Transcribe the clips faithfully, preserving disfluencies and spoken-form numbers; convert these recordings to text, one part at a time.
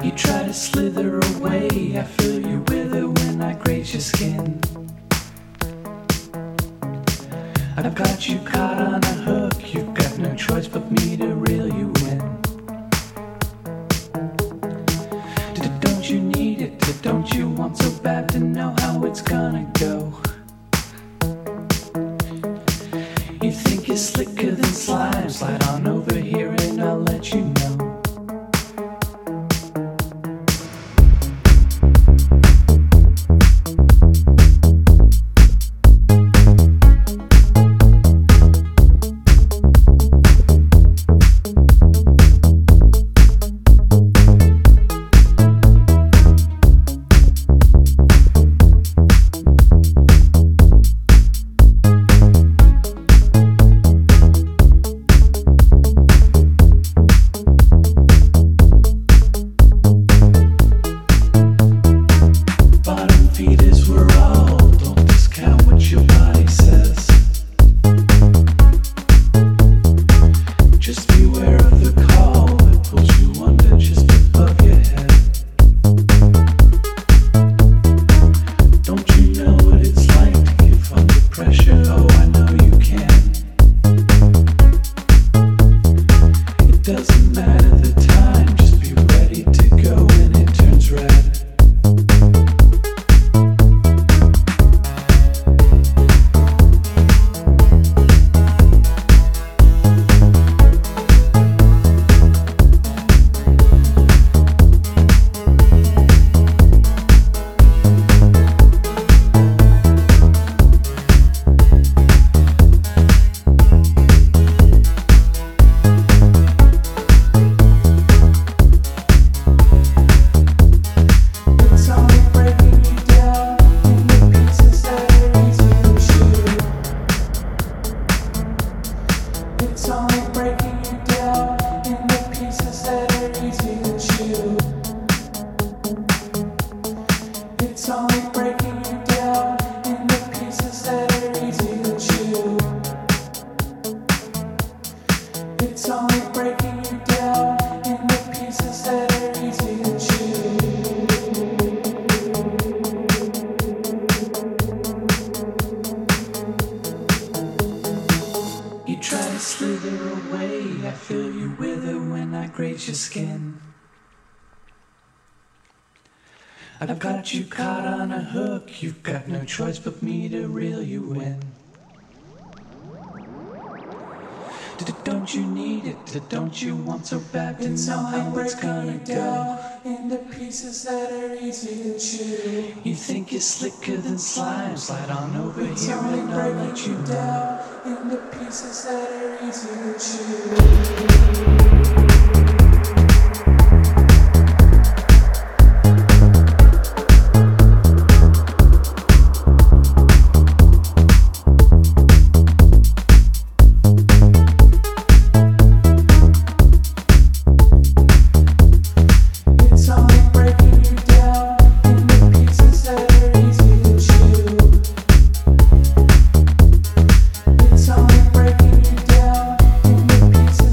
You try to slither away, I feel you wither when I graze your skin. I've got you caught on a hook, you've got no choice but me to reel you in. Don't you need it, don't you want so bad to know how it's gonna go? You think you're slicker than slime, slide on over here and I'll let you know. I've got you caught on a hook, you've got no choice but me to reel you in. Don't you need it, don't you want so bad to know how it's gonna go? Into pieces that are easy to chew. You think you're slicker than slime, slide on over It's here only and I'll let breaking you you know. down into pieces that are easy to chew. Pieces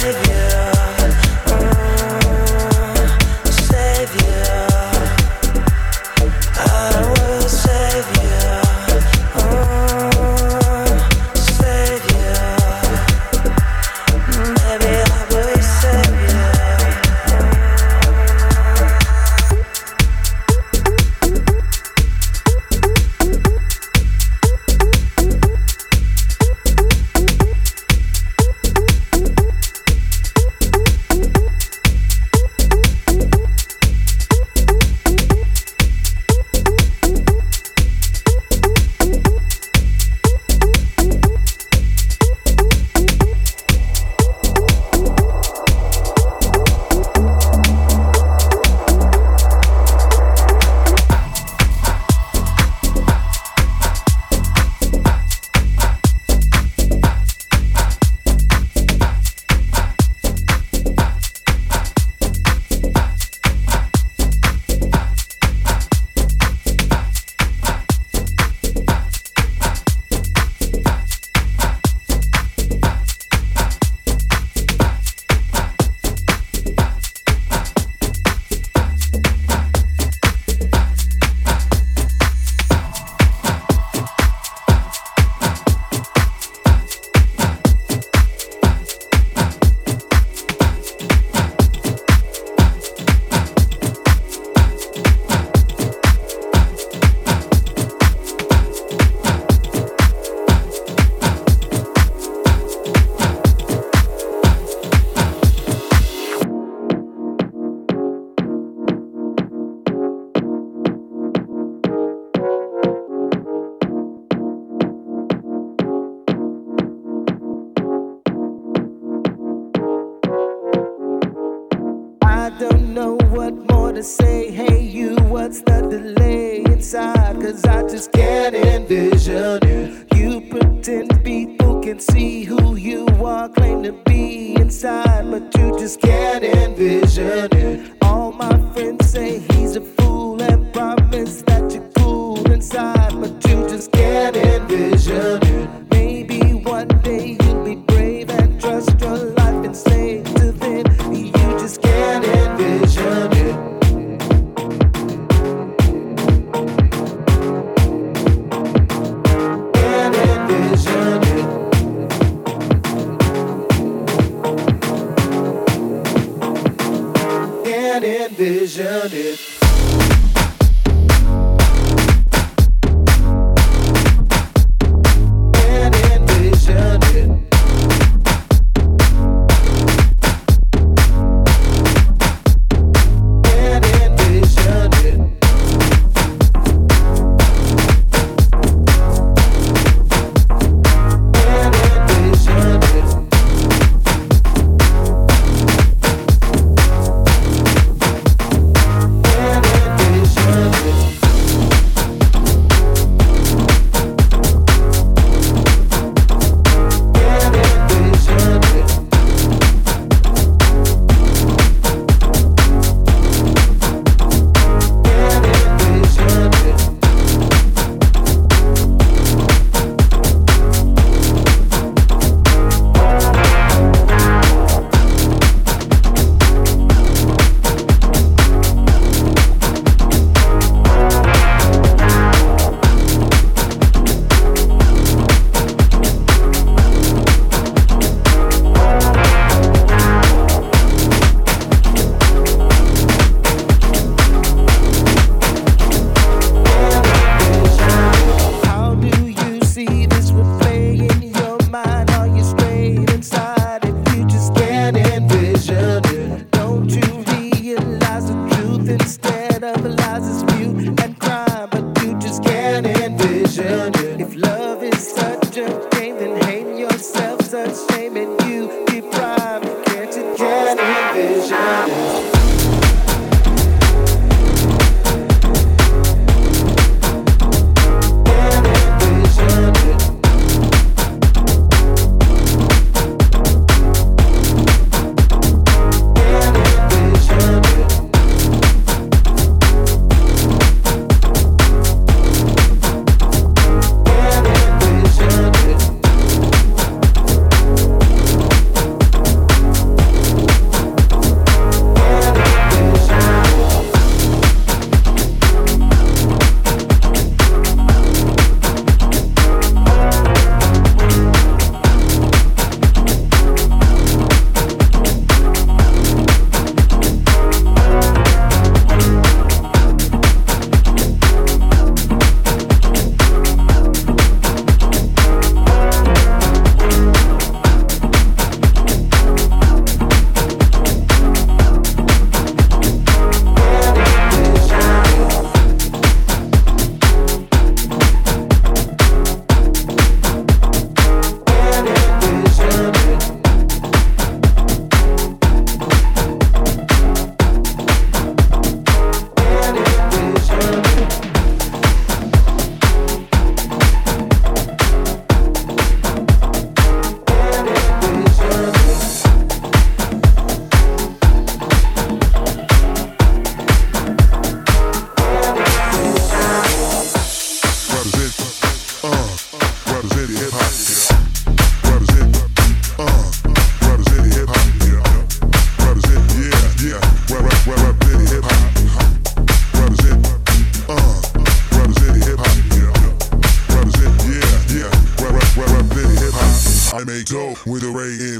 to say, hey you, what's the delay inside? Cause I just can't envision it. You pretend people can see who you are, claim to be inside, but you just can't envision it. All my friends say he's a fool and promise that you're cool inside, but you just can't envision it. Maybe one day you'll be brave and trust your life enslaved to then. You just can't envision it. Can't envision it. Can't envision it.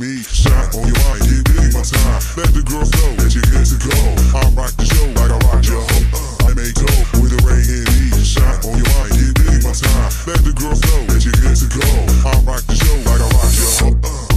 me. Shine on your mind, get busy my time. Let the girls know that you're good to go. I rock the show like I rock your hoe. I may go with a ray in me. Shine on your mind, get busy my time. Let the girls know that you're good to go. I rock the show like I rock your hoe.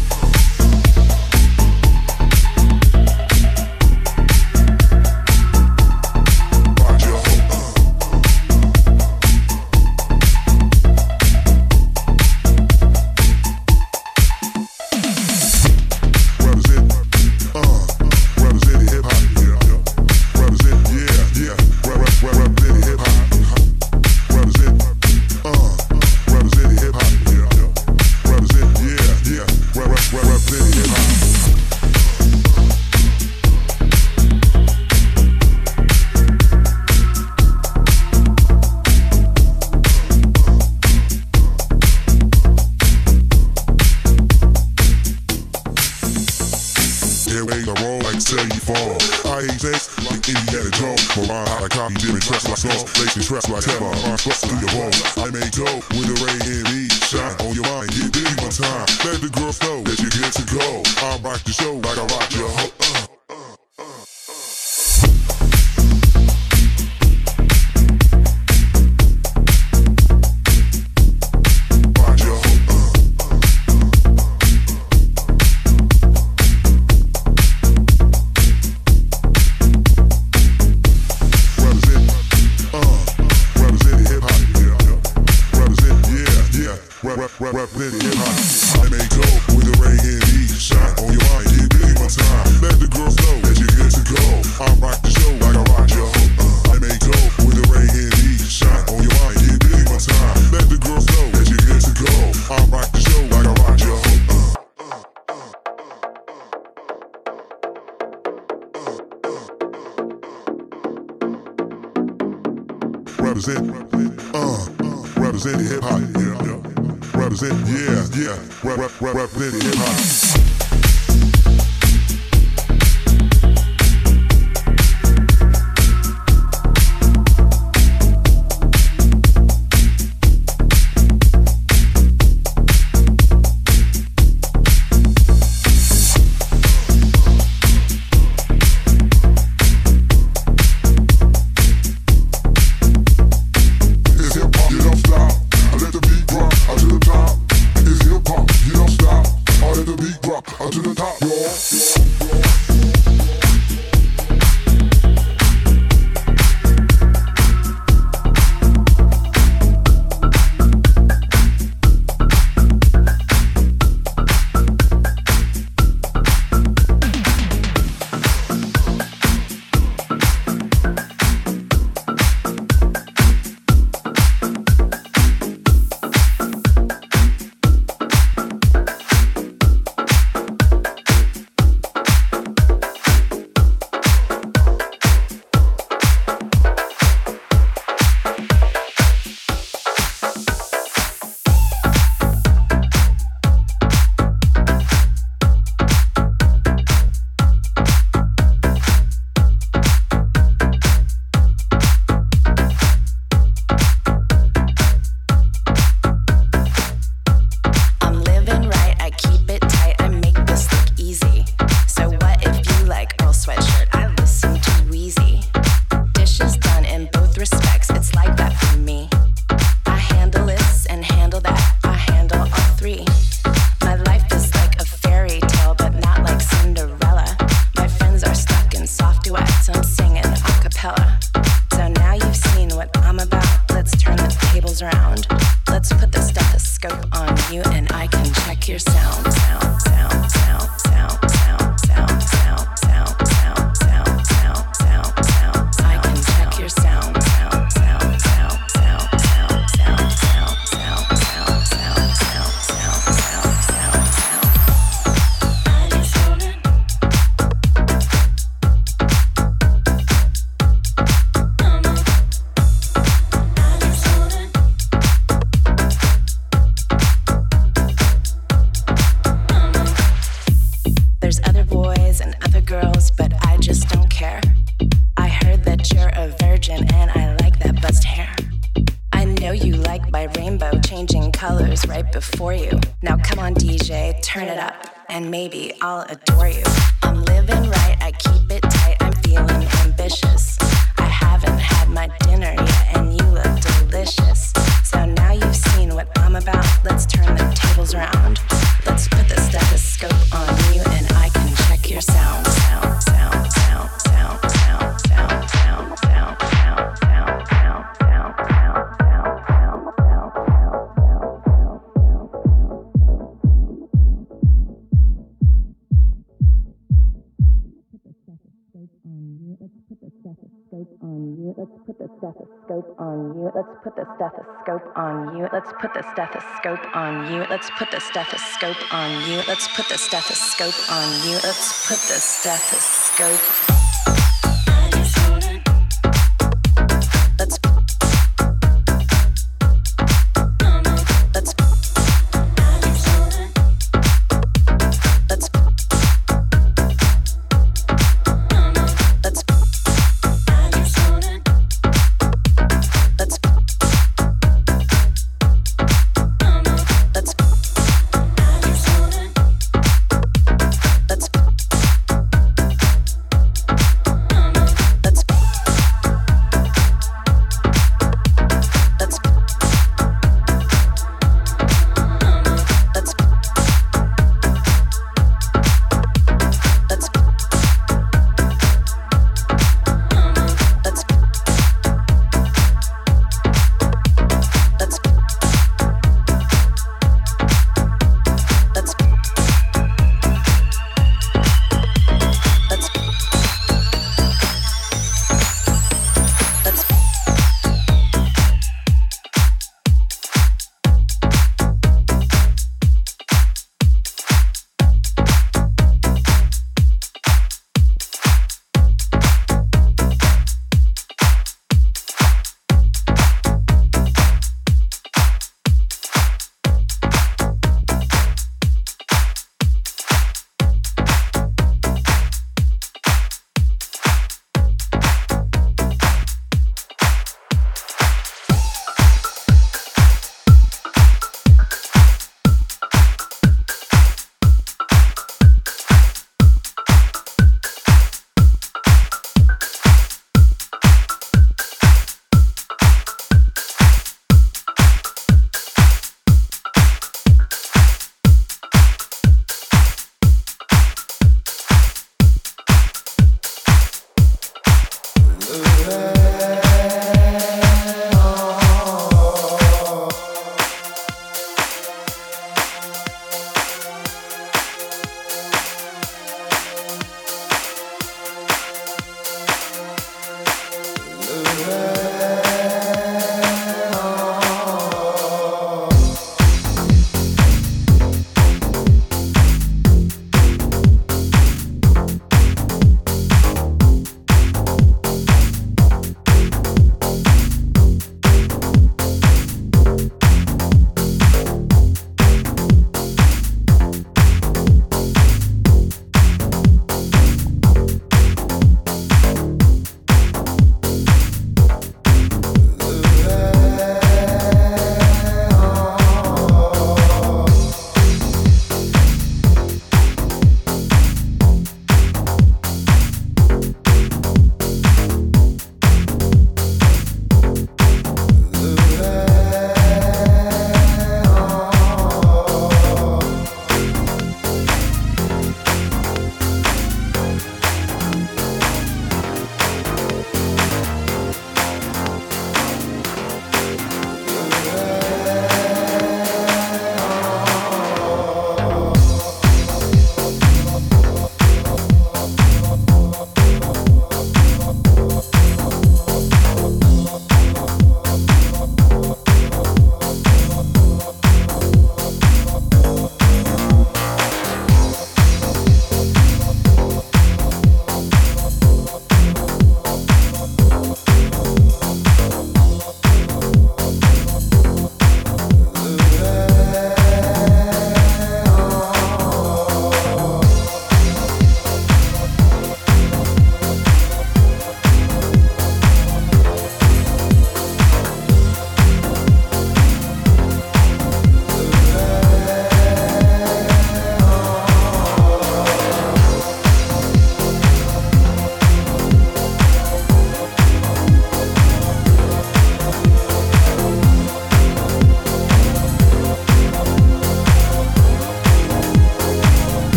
Trust like ever, I'm supposed to do your bones. I may go with a ray in me. Shine on your mind, get busy one time. Let the girls know that you're good to go. I rock the show like I rock your hoe. Represent, uh, represent hip hop, yeah, yeah. Represent, yeah, yeah, rep, rep, rep, represent hip hop. Rainbow changing colors right before you. Now come on D J, turn it up. and maybe I'll adore you. I'm living right, I keep it tight, I'm feeling ambitious. I haven't had my dinner yet, and you look delicious. So now you've seen what I'm about, let's turn the tables around. Let's put the stethoscope on you, and I can check your sound, sound, sound, sound, sound, sound, sound, sound, sound, sound, sound, sound, sound, sound, sound, sound, Let's put the stethoscope on you. Let's put the stethoscope on you. Let's put the stethoscope on you. Let's put the stethoscope on you. Let's put the stethoscope on you. Let's put the stethoscope on you.